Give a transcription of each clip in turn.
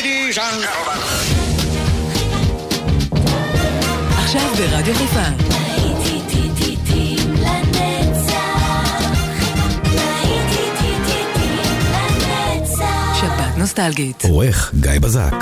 Ladies and gentlemen. עכשיו ברדיו חיפה. שבת נוסטלגית. עורך גיא בזק.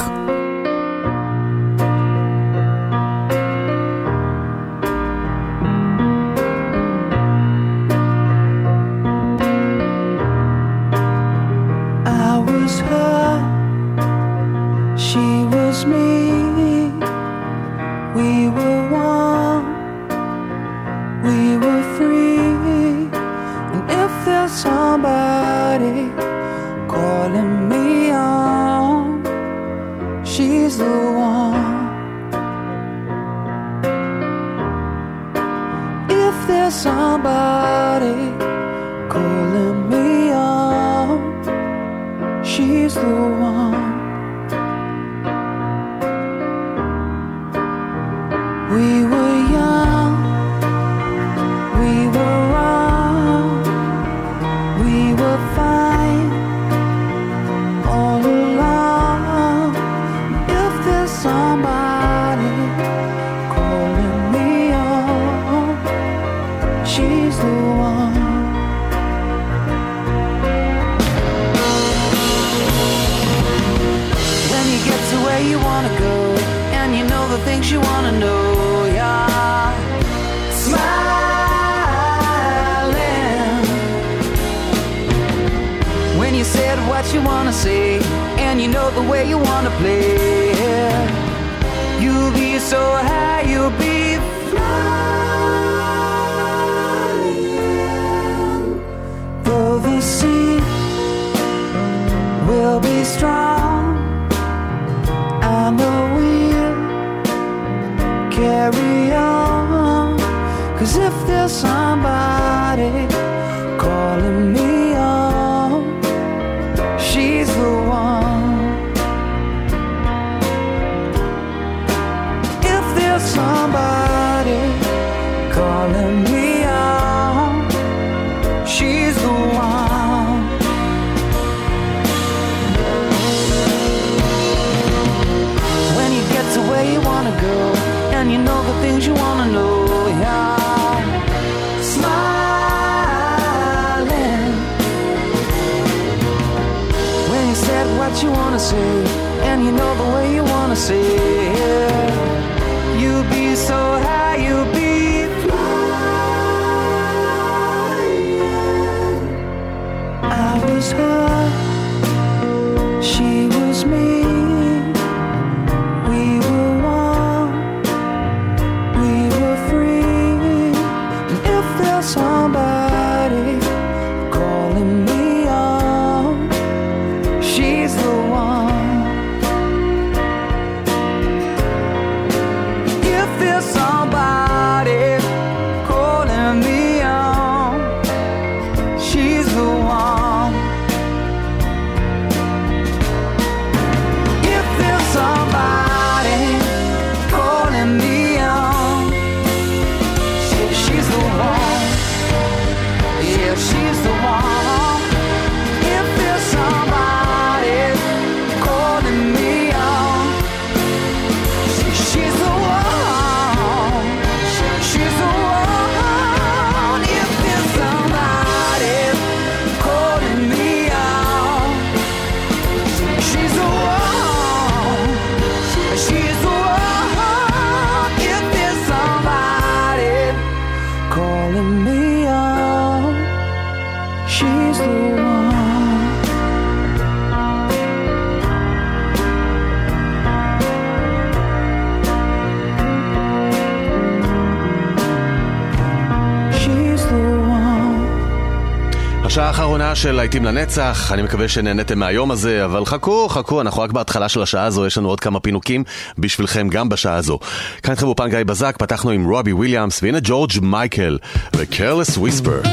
השעה האחרונה של להיטים לנצח, אני מקווה שנהנתם מהיום הזה, אבל חכו, אנחנו רק בהתחלה של השעה הזו, יש לנו עוד כמה פינוקים בשבילכם גם בשעה הזו. כאן איתכם באופן גיא בזק, פתחנו עם רובי וויליאמס, והנה ג'ורג' מייקל ו-Careless Whisper.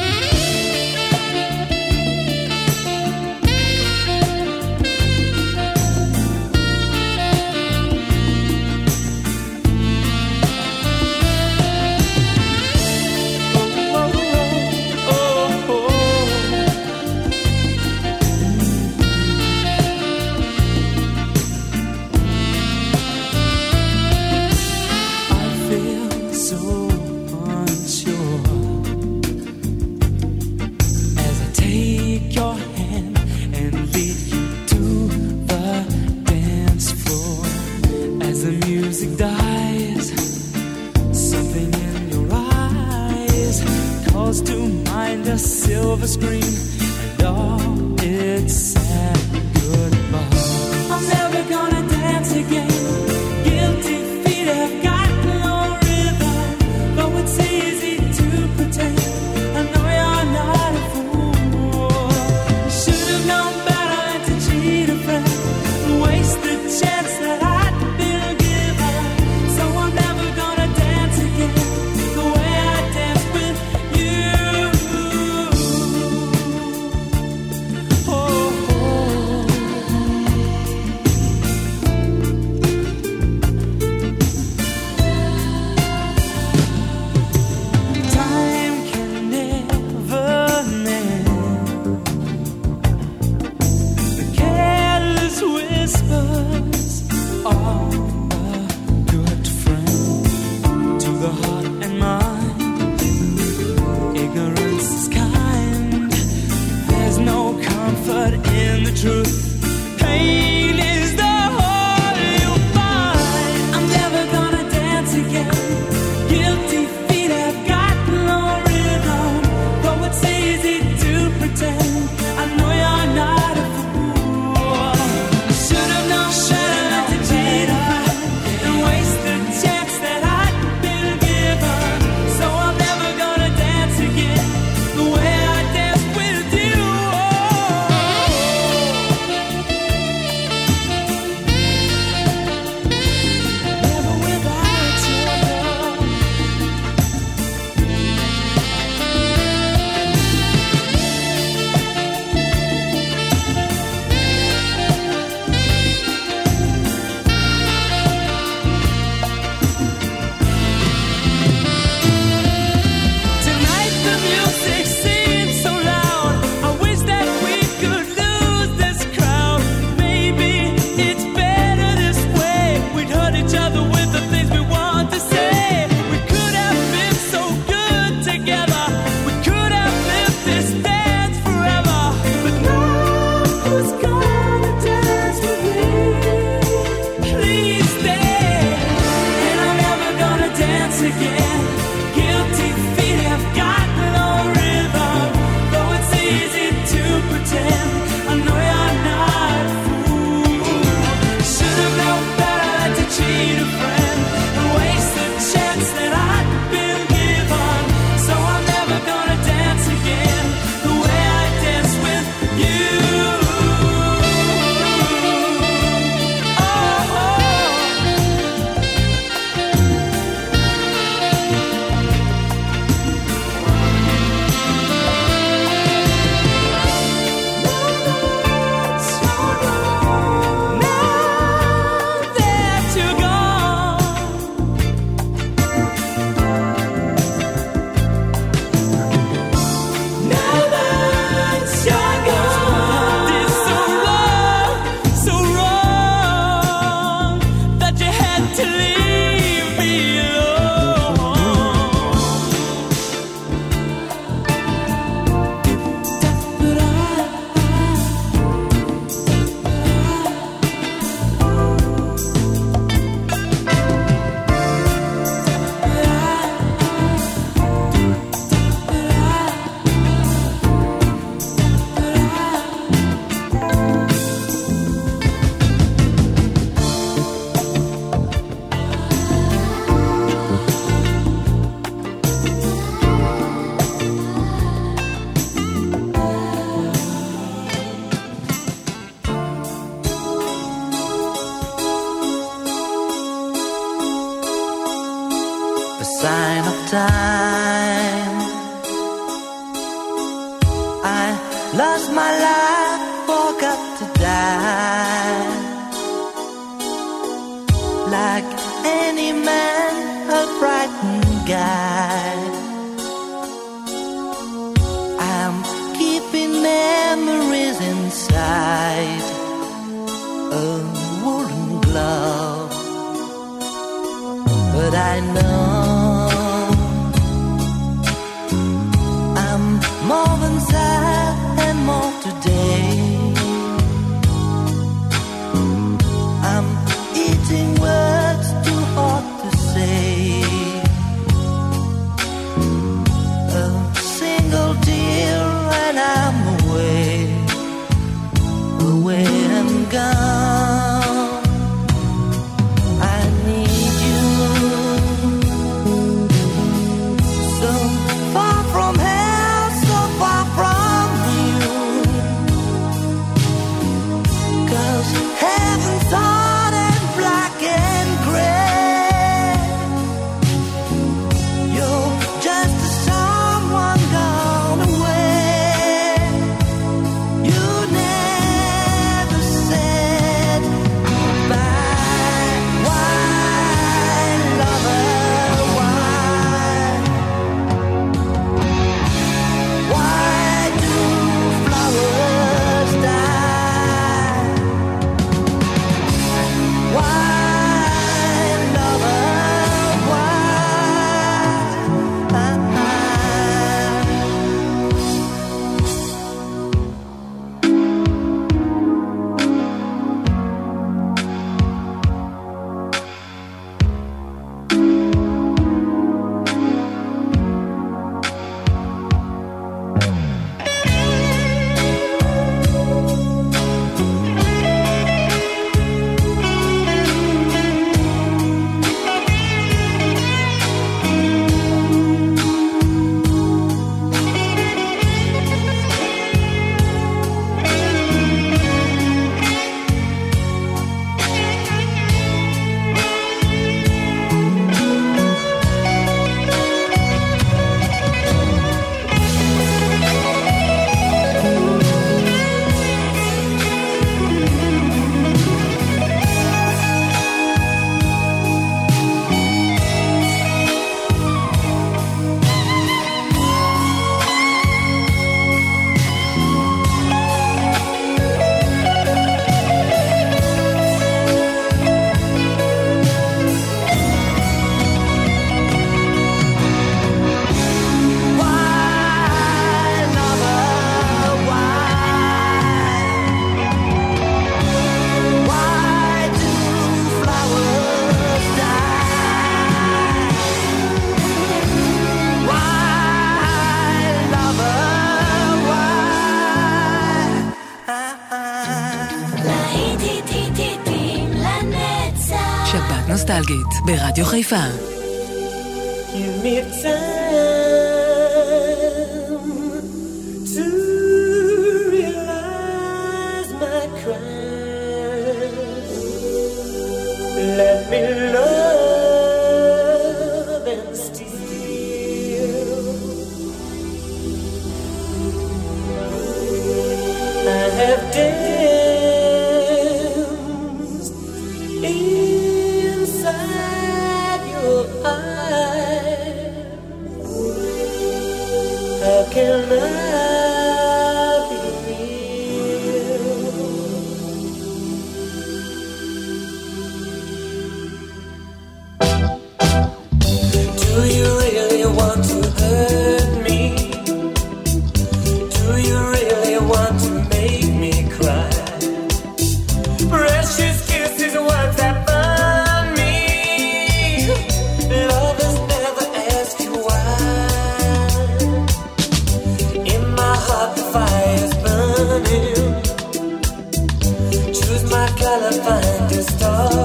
silver screen and all its sad goodbye. I'm never gonna dance again. Guilty feet have got no rhythm, though it's easy to pretend. I know you're not a fool. You should have known better than to cheat a friend and waste the chance that I'd been given. So I'm never gonna dance again the way I danced with you. Time can never mend the careless whispers of a good friend to the heart and mind. Ignorance is kind. There's no comfort in the truth. Pain is the whole you'll find. I'm never gonna dance again. Guilty feet have got no rhythm, though it's easy to pretend. I know you're not a fool. I should have known better than to cheat a friend and waste the chance that I'd been given. So I'm never gonna dance again the way I danced with you. Never without your love. Tonight the music seems so loud. I wish that we could lose this crowd. Maybe it's better this way. We'd hurt each other with the things we want to say. We could have been so good together. We could have lived this dance forever. But now who's gonna dance with me? Please stay. And I'm never gonna dance again. Guilty feet have got no rhythm, though it's easy to pretend. I know you're not a fool. Should have known better than to cheat a friend and waste the chance that I'd been given. So I'm never gonna dance again the way I danced with you. Now that you're gone, now that you're gone, it's so wrong that you had to leave me alone. But a sign of time. I lost my life, forgot to die. Like any man, a frightened guy. I'm keeping memories inside a woolen glove. But I know I'm more than sad and more today. I'm eating words too hard to say. A single tear נוסטלגית ברדיו חיפה. Give me time to realize my crime. Let me love and steal. I have danced inside your eyes. How can I be real? Do you really want to hurt me? Do you really want to make me cry? Precious kisses, words that burn me. Lovers never ask you why. In my heart the fire's burning. Choose my color, find a star.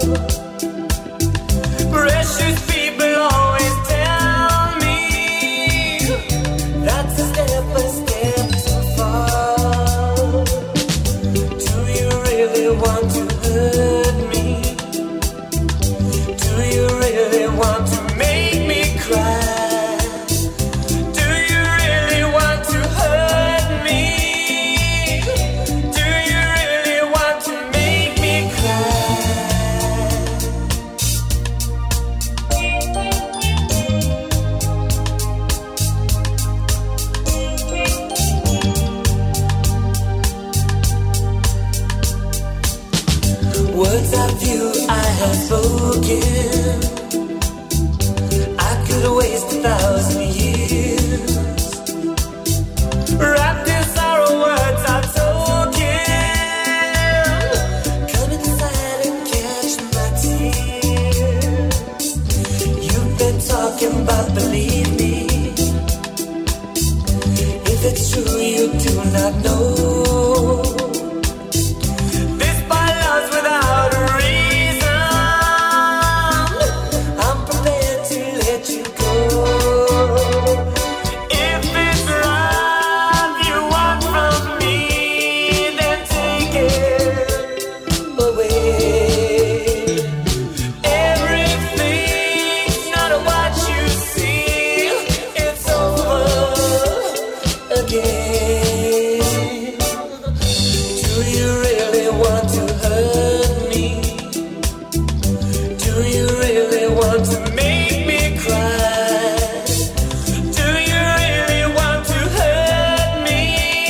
Precious people always tell me that's a step too far. Do you really want to hurt me? Do you really want to make me cry? Do you really want to hurt me? Do you really want to make me cry? Words of you I have spoken, I could waste 1,000 years. Wrapped in sorrow, words are token. Come inside and catch my tears. You've been talking about believe me. If it's true you do not know. Without a reason, I'm prepared to let you go. If it's love you want from me, then take it away. Everything's not what you see, it's over again. Do you really want to hurt me? Do you really want to make me cry? Do you really want to hurt me?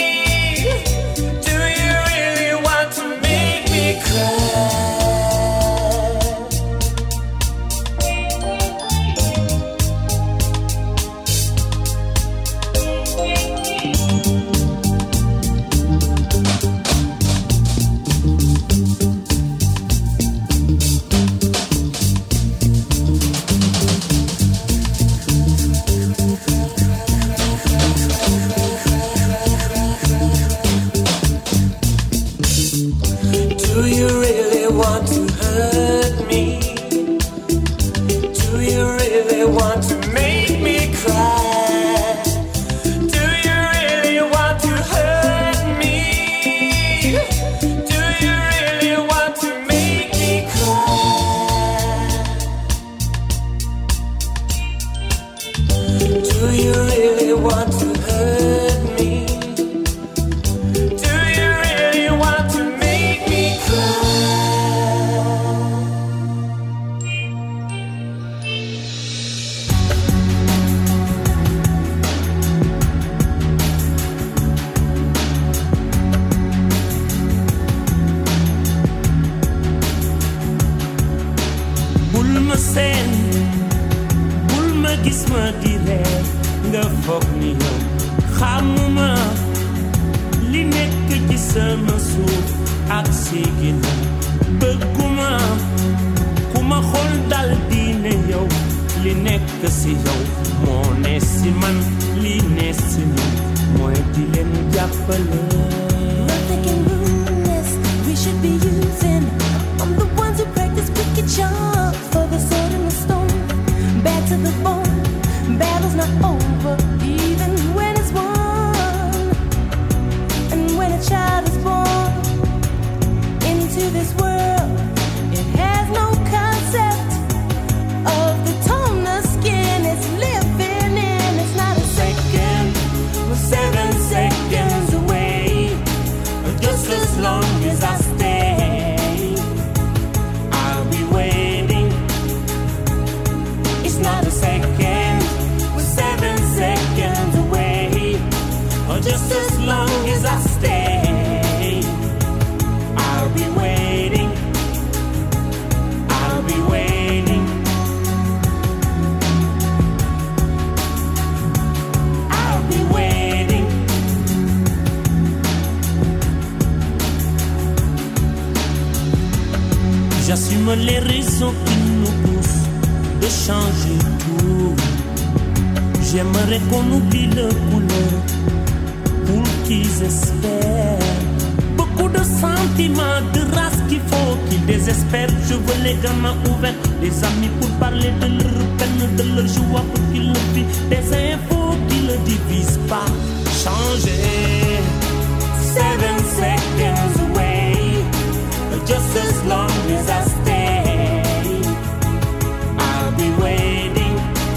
Do you really want to make me cry? Do you really want to hurt me? Do you really want to make me cry? Do you really want to hurt me? Do you really want to make me cry? Do you really want to hurt me? Do you really want to make me cry? bul ma seen bul ma gis ma di reer nga foog ni yow xamuma li nekk ci sama suuf ak si ginnaaw bëgguma ku ma xool dal di ne yow li nekk si yow moo ne si man li ne si man mooy di leen jàppale. Nothing can ruin this. We should be using. I'm the ones who practice wicked charm. J'assume les raisons qui nous poussent de changer tout. J'aimerais qu'on oublie le couleur pour qu'ils espèrent. Beaucoup de sentiments, de race qu'il faut qu'ils désespèrent. Je veux les gamins ouverts, des amis pour parler de leur peine, de leur joie pour qu'ils le vivent. Des infos qui ne divisent pas. Changer. 7 seconds away, just as long as I stay, I'll be waiting.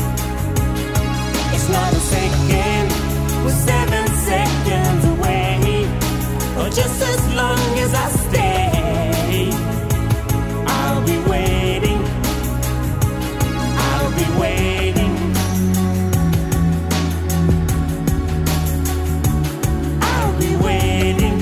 It's not a second, we're 7 seconds away, just as long as I stay, I'll be waiting. I'll be waiting. I'll be waiting.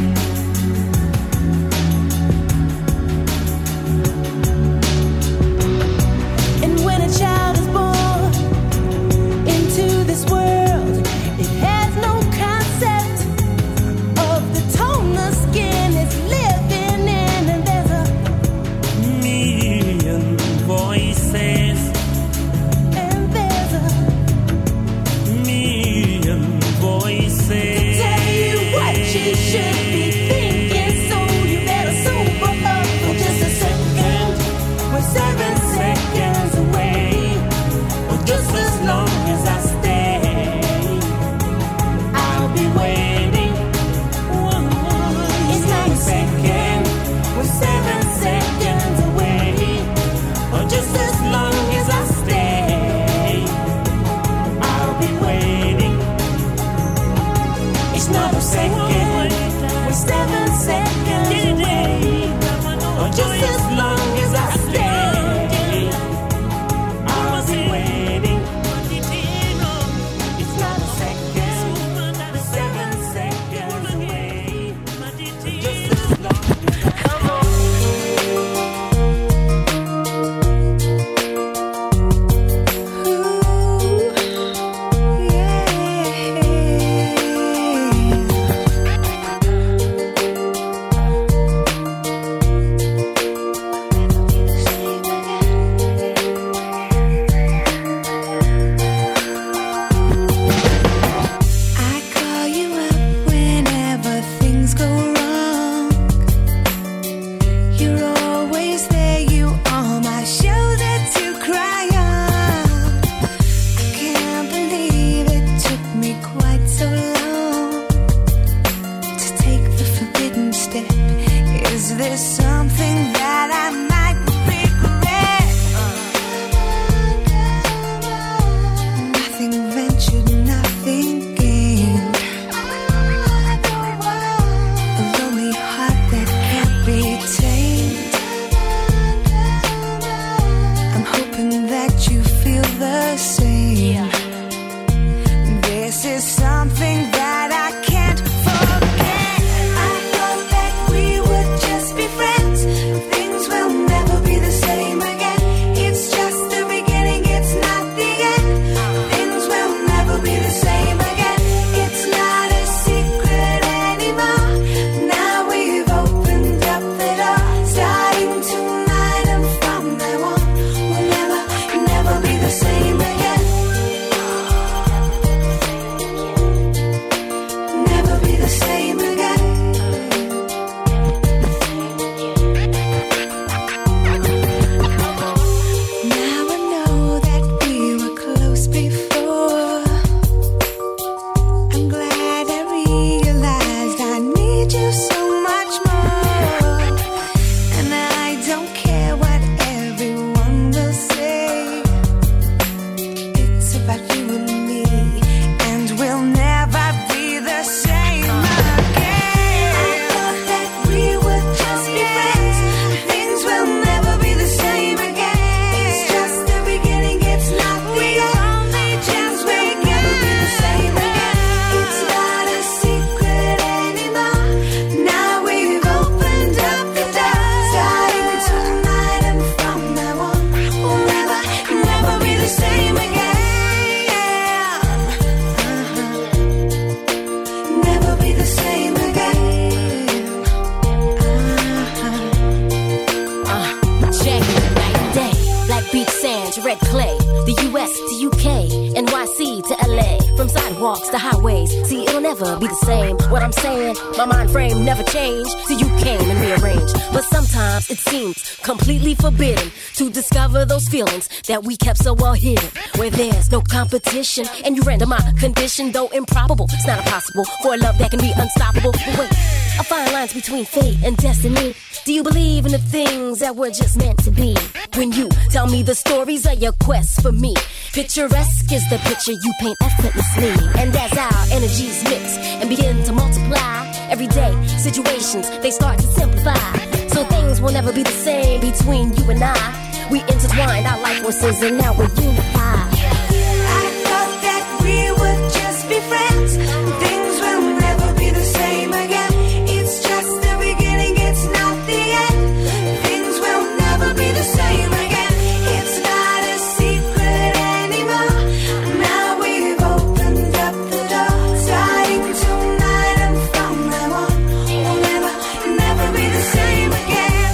And when a child is born into this world, it has no concept of the tone the skin is living in. And there's a million voices, and there's a million voices. tell you what you should be thinking, so you better sober up for just a second. We're 7 seconds away, Or just as long as I stay, I'll be waiting. it's not a second. We're 7 seconds away, or just as long as I stay, I'll be waiting. It's not a second. We're 7 seconds away, Or just as long as I stay, I'll be waiting. It's not a second. We're 7 seconds away, just as long as I I call you up whenever things go wrong. You're always there, you are my shoulder to cry on. I can't believe it took me quite so long to take the forbidden step. Is this something that I might regret? Nothing ventured, nothing gained. A lonely heart that can't be tamed. I'm hoping that you feel the same. This is something that I can't forget. I thought that we would just be friends. Things will never be the same again. It's just the beginning, it's not the end. Things will never be the same again. It's not a secret anymore. Now we've opened up the door. Starting tonight and from now on, we'll never, never be the same again. to red clay, the US to UK, NYC to LA, from sidewalks to highways. See, it'll never be the same. What I'm saying, my mind frame never changed till you came and rearranged. But sometimes it seems completely forbidden to discover those feelings that we kept so well hidden, where there's no competition and you render my condition, though improbable. It's not impossible for a love that can be unstoppable. But wait, a fine line's between fate and destiny. Do you believe in the things that were just meant to be? When you tell me the stories of your quest for me, picturesque is the picture you paint effortlessly. And as our energies mix and begin to multiply, everyday situations, they start to simplify. So things will never be the same between you and I. We intertwined our life forces and now we're unified. I thought that we would just be friends. Things will never be the same again. It's just the beginning, it's not the end. Things will never be the same again. It's not a secret anymore. Now we've opened up the door. Starting tonight and from now on, we'll never, never be the same again.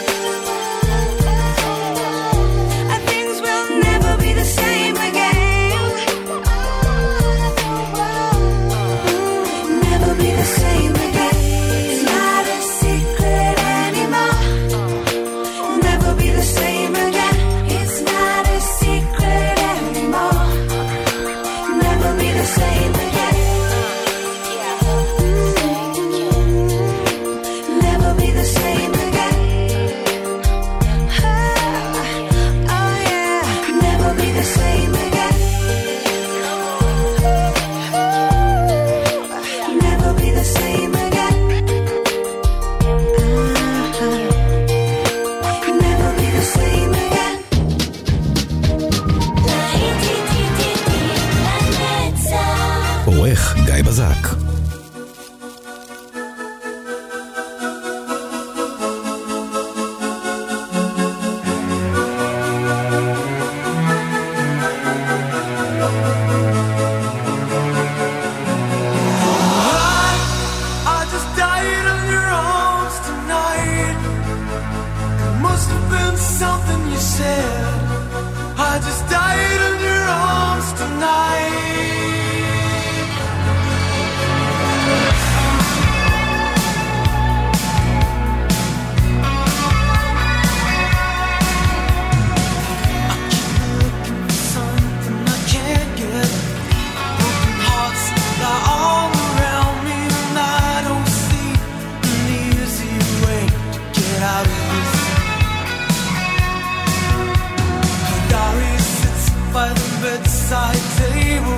Things will never be the same again. Never be the same again. It's not a secret anymore. Never be the same again. It's not a secret anymore. Never be the same again. Never be the same again. Oh yeah. Never be the same again. Never be the same again. Never be the same again. עורך גיא בזק. I just died in your arms tonight. It must have been something you said. I just died in your arms tonight. I keep looking for something I can't get. Broken hearts lie all around me, and I don't see an easy way to get out of this. Her diary sits by the bedside table.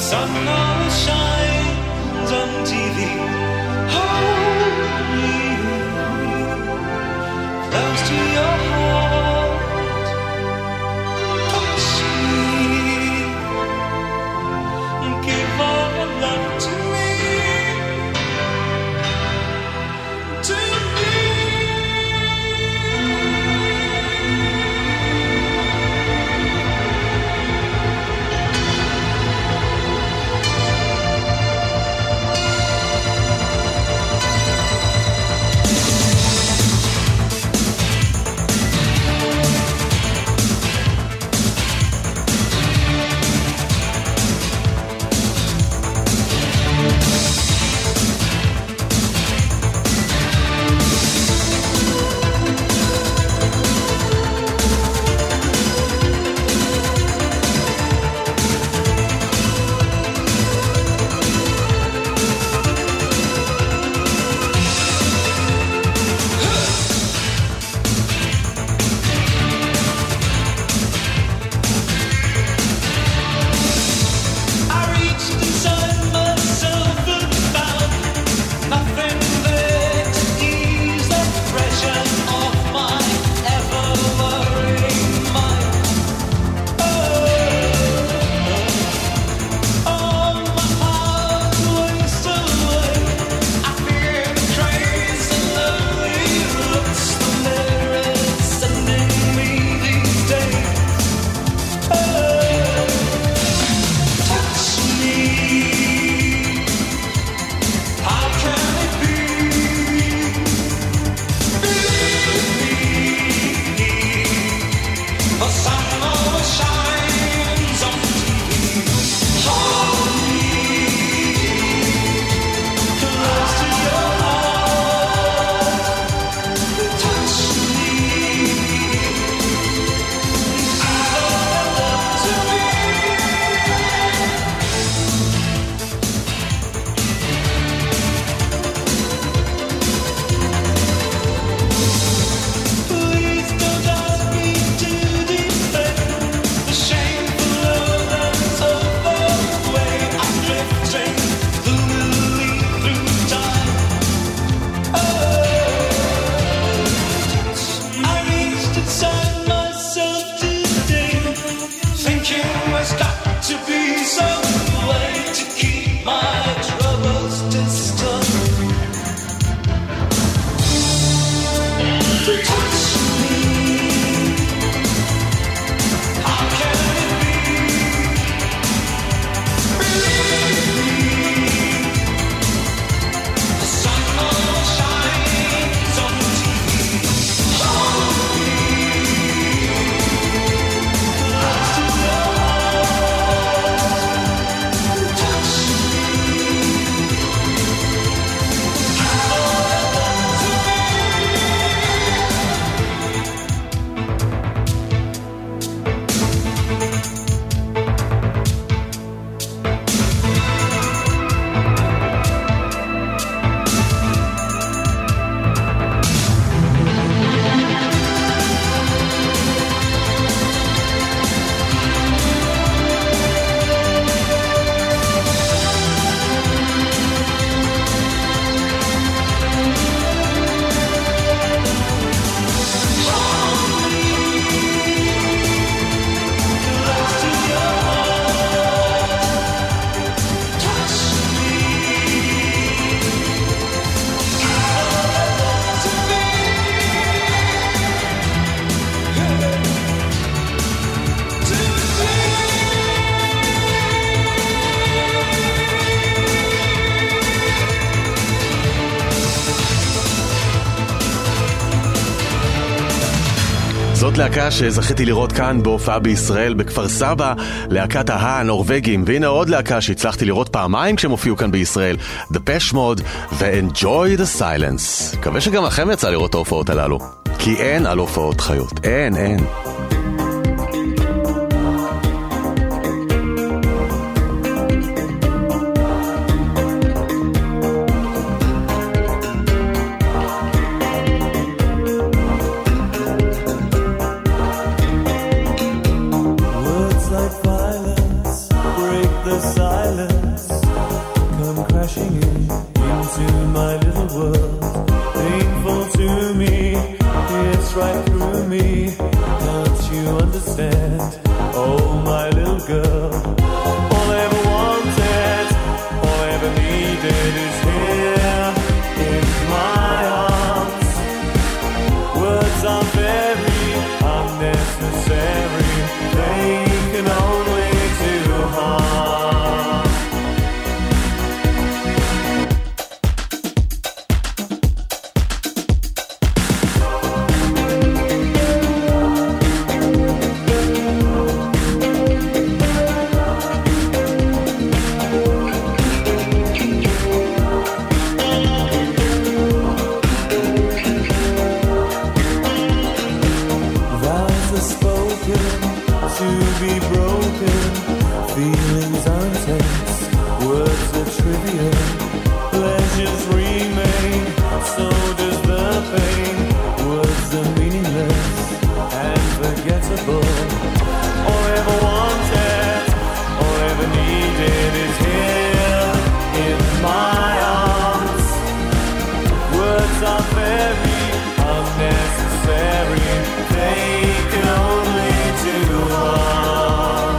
sun always shines on TV. Hold me close to your heart. Touch me. Give all your love to me. To me. זאת להקה שזכיתי לראות כאן בהופעה בישראל בכפר סבא, להקת הנורווגים, והנה עוד להקה שהצלחתי לראות פעמיים כשהם הופיעו כאן בישראל, Depeche Mode ו-Enjoy the Silence. מקווה שגם לכם יצא לראות את ההופעות הללו, כי אין על הופעות חיות, אין. Words like violence. break the silence, come crashing into my little world. Painful to me, it's right through me. Don't you understand? Oh, my little girl. All I ever wanted, all I ever needed is here in my arms. Words are very unnecessary, they can only do harm. To be broken, feelings are intense, words are trivial, pleasures remain, so does the pain. Words are meaningless and forgettable. All I ever wanted, all I ever needed is here in my arms. Words are very unnecessary, they can only do harm.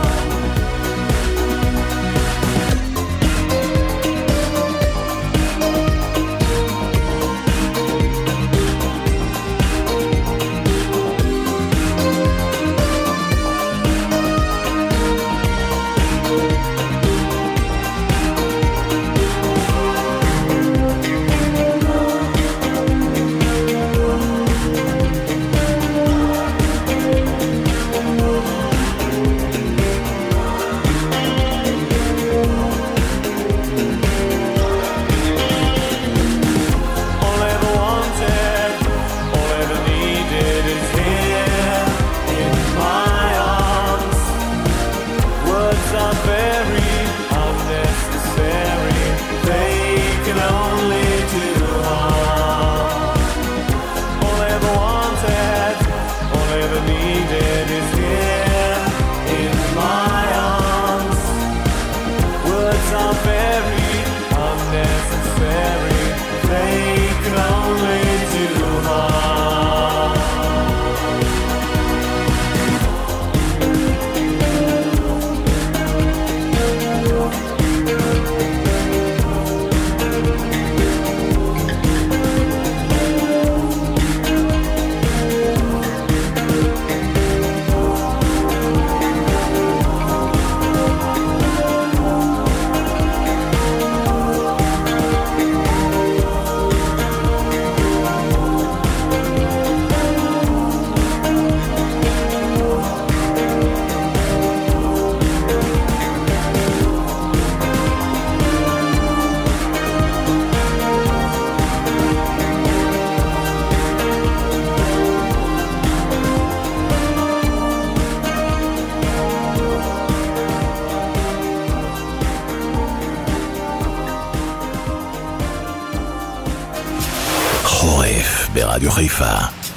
ברדיו חיפה.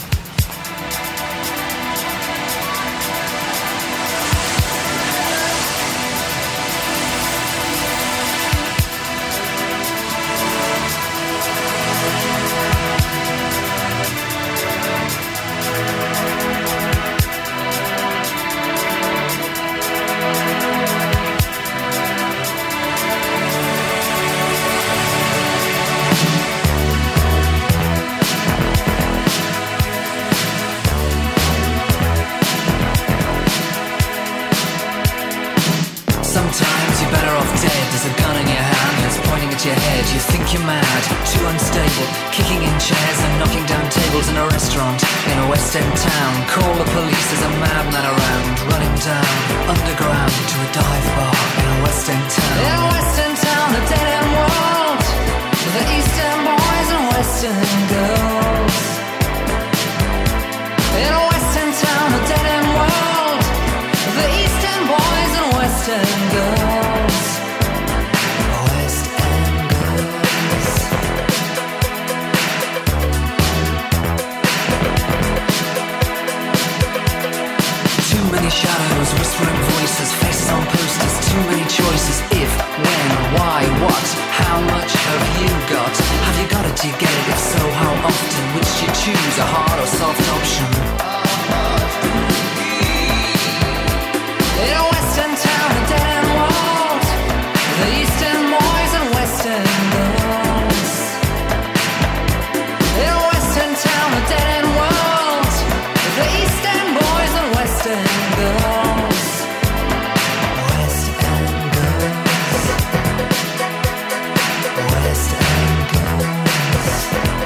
Sometimes you're better off dead. There's a gun in your hand that's pointing at your head. You think you're mad, too unstable, kicking in chairs and knocking down tables in a restaurant in a West End town. Call the police, there's a madman around, running down underground to a dive bar in a West End town. In a West End town, a dead end world, the East End boys and West End girls. In a West End town, a dead end world, the East End boys and West End girls. West End girls. Too many shadows, whispering voices, faces on posters, too many choices. choice is if, when, why, what, how much have you got? Have you got it, do you get it? If so, how often? Which do you choose, a hard or soft option? In a western town, a dead end world, the eastern boys and western girls. In a western town, a dead end world, the eastern boys and western girls. West End girls. West End girls.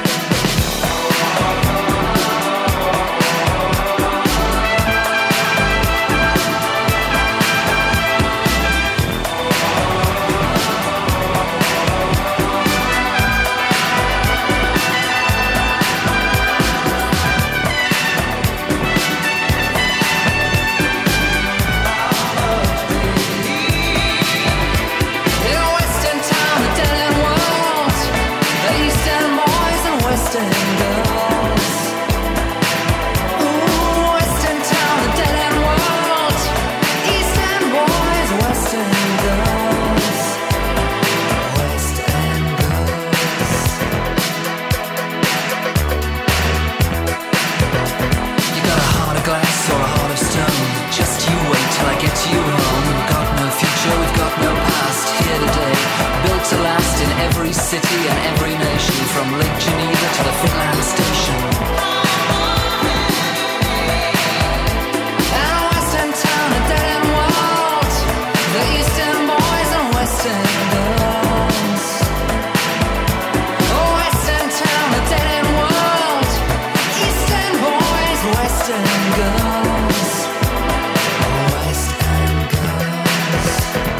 City and every nation, from Lake Geneva to the Finland station. And a western town, a dead end world, the eastern boys and western girls. A western town, a dead end world, eastern boys, western girls. West End girls.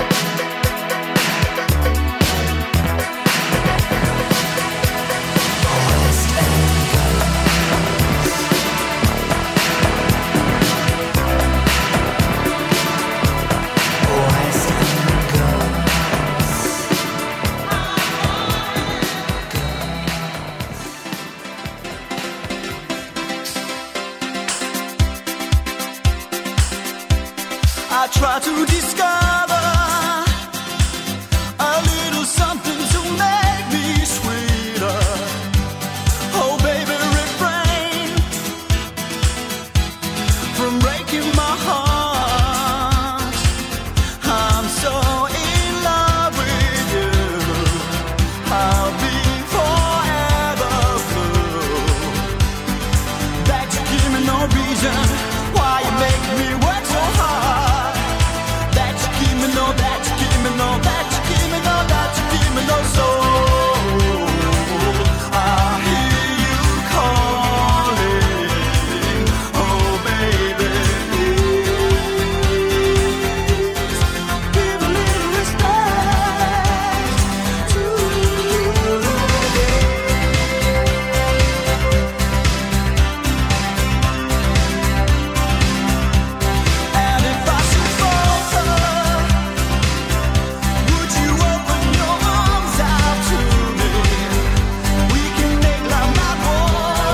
I try to discover a little something to make me sweeter. Oh baby, refrain from breaking my heart. I'm so in love with you, I'll be forever blue. That you give me no reason why you make me work so hard. That you give me no, that you give me no, that you give me no, that you give me no soul. I hear you calling, oh baby, please give a little respect to And if I should falter, would you open your arms out to me? We can make love not war,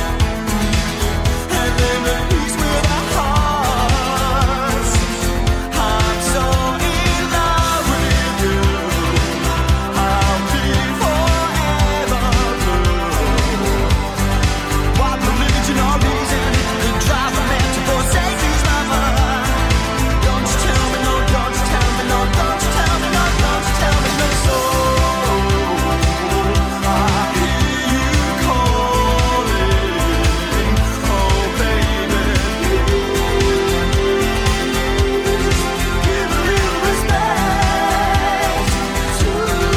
and live in peace with our hearts. I'm so in love with you, I'll be forever blue. What religion or reason could drive a man to forsake his lover? Don't you tell me no, don't you tell me no, don't you tell me no, don't you tell me no soul. I hear you calling, oh baby, please give a little respect to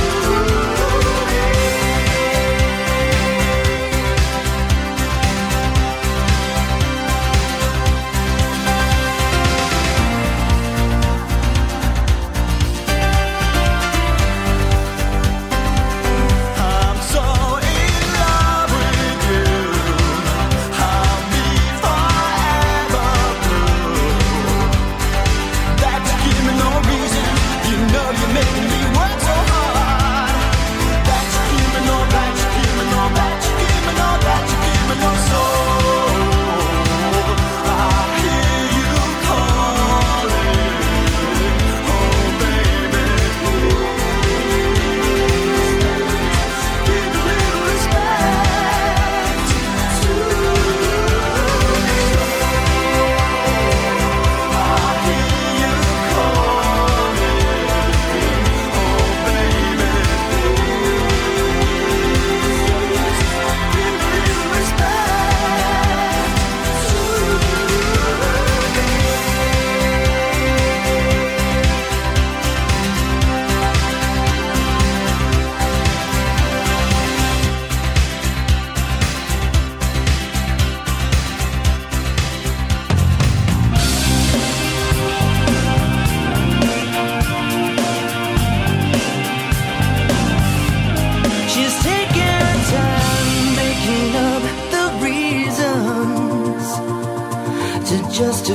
I'm so in love with you, I'll be forever blue. That you give me no reason, you know you're making me work so hard. That you give me no, that you give me no, that you give me no, that you give me no soul. I hear you calling, oh baby,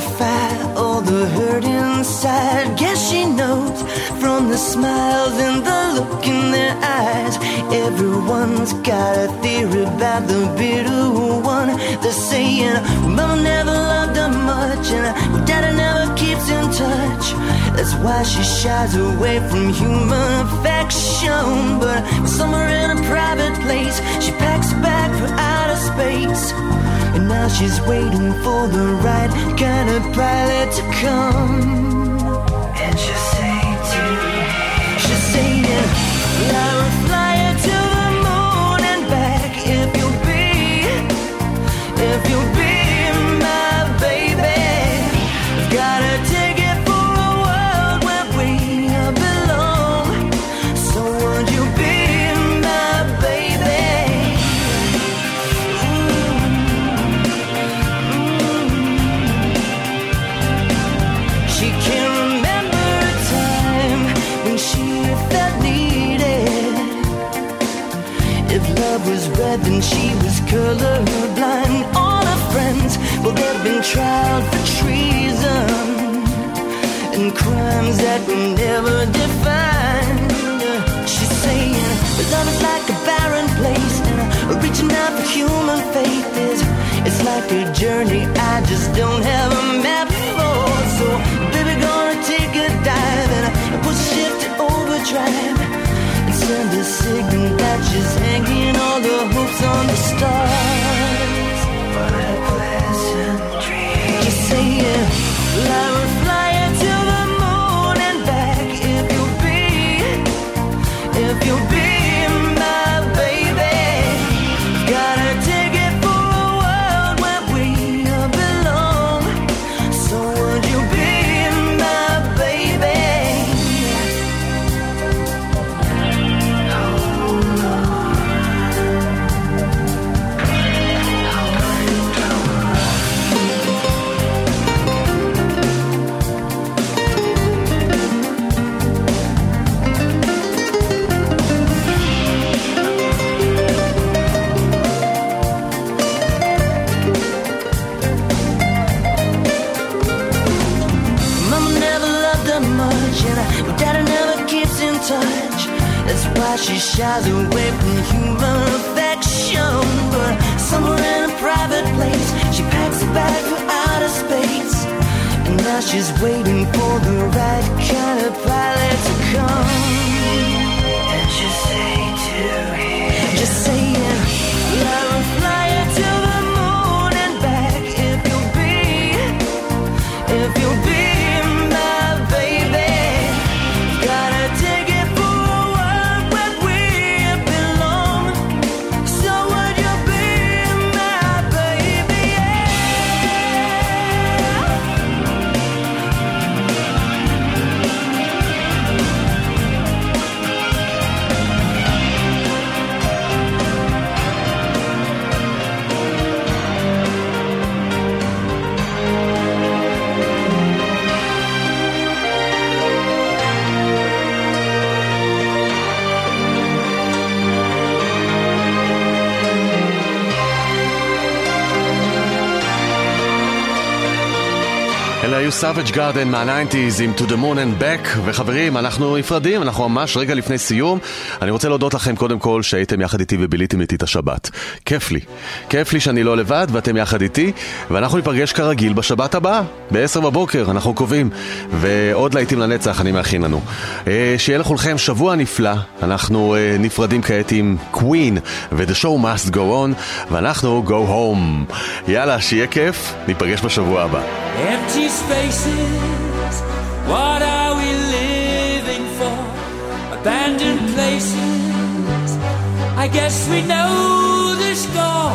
identify all the hurt inside. Guess she knows from the smiles and the look in their eyes. Everyone's got a theory about the bitter one. They're saying Mama never loved her much, and Daddy never keeps in touch. That's why she shies away from human affection. But somewhere in a private place, she packs a bag for outer space. And now she's waiting for the right kind of pilot to come. And she'll say to me, she's saying, I will fly her to the moon and back if you'll be my baby. I've got a ticket for a world where we belong. So would you be my baby? She can remember a time when she felt needed. If love was red, then she was colorblind. All her friends, well, they've been tried for treason and crimes that were never defined. She's saying, but love is like a barren place, and reaching out for human faith it's like a journey I just don't have a map for. So, baby, gonna take a dive and put ship to overdrive and send a signal that she's hanging all the hopes on the stars. What a pleasant dream. Just saying, I will fly her to the moon and back if you'll be my baby. Got a ticket for a world where we belong. So would you be my baby? Daddy never keeps in touch. That's why she shies away from human affection. But somewhere in a private place, she packs a bag for outer space. And now she's waiting for the right kind of pilot to come. And she'll say to him, just saying, I will fly her to the moon and back if you'll be my baby. Got a ticket for a world where we belong. So would you be my baby? אלה היו סאביג' גארדן מה-90s עם To the Moon and Back. וחברים, אנחנו נפרדים, אנחנו ממש רגע לפני סיום. אני רוצה להודות לכם קודם כל שהייתם יחד איתי וביליתם איתי את השבת. כיף לי שאני לא לבד ואתם יחד איתי, ואנחנו ניפגש כרגיל בשבת הבאה ב-10 בבוקר, אנחנו קובעים, ועוד להיטים לנצח אני מאכין לנו. שיהיה לכולכם שבוע נפלא. אנחנו נפרדים כעת עם Queen ו-The Show Must Go On, ואנחנו Go Home. יאללה, שיהיה כיף, ניפגש בשבוע הבא. Empty spaces, what are we living for? Abandoned places, I guess we know the score.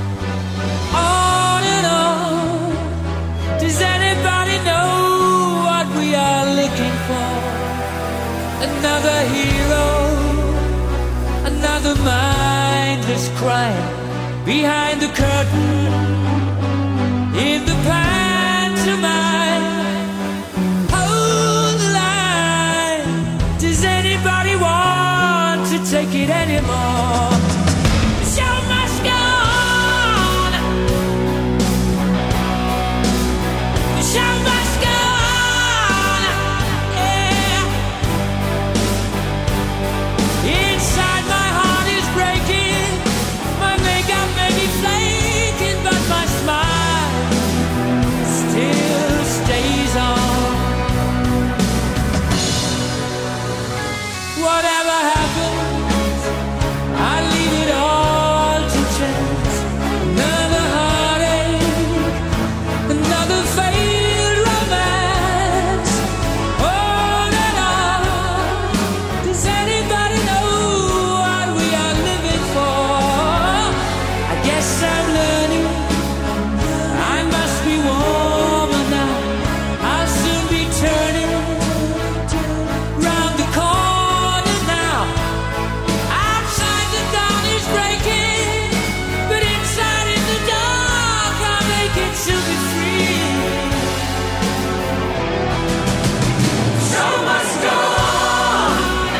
On and on, does anybody know what we are looking for? Another hero, another mindless crime behind the curtain, in the pantomime. Hold the line. Does anybody want to take it anymore? The show must go on. The show Whatever happens, I leave it all to chance. Another heartache, another failed romance. On and on. Does anybody know what we are living for? I guess I'm learning. I must be warmer now. I'll soon be turning round the corner now. Outside the dawn is breaking, but inside in the dark I'll make it to be free. Show must go on.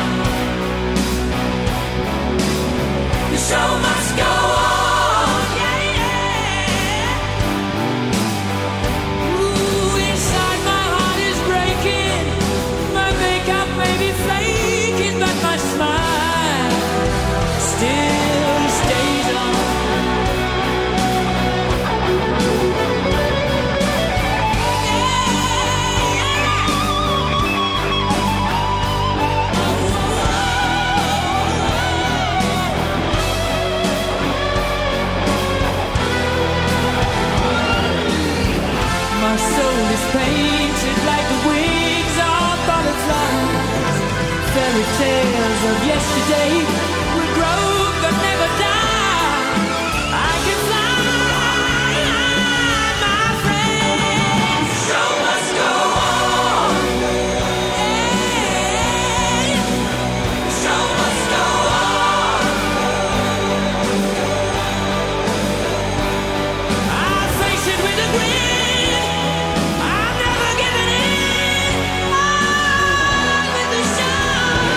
The show must go on. Yeah, yeah. Ooh, inside my heart is breaking. My makeup may be flaking, but my smile still stays on. My soul is painted like the wings of butterflies. Fairy tales of yesterday will grow but never die. I can fly, my friend. Show must go on. Hey, show must go on. I'll face it with a grin. I'm never giving in. On with the show.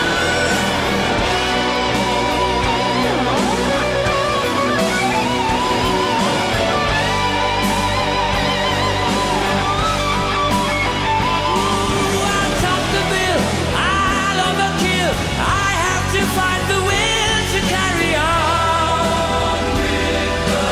Ooh, I'll top the bill. I'll overkill. I have to find the will to carry on with the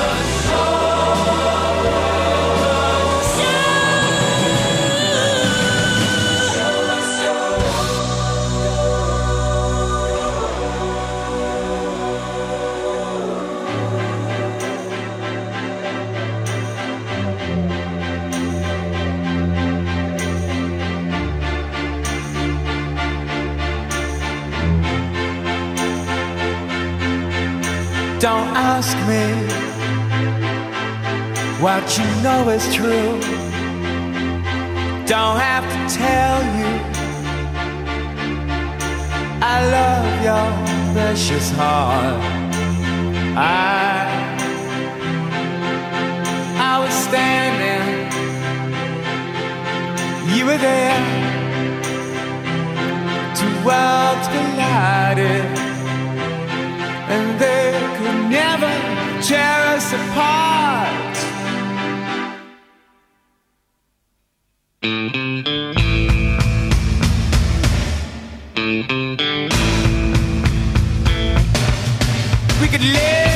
Don't ask me what you know is true. Don't have to tell you I love your precious heart. I was standing, you were there. Two worlds collided, and they could never tear us apart. We could live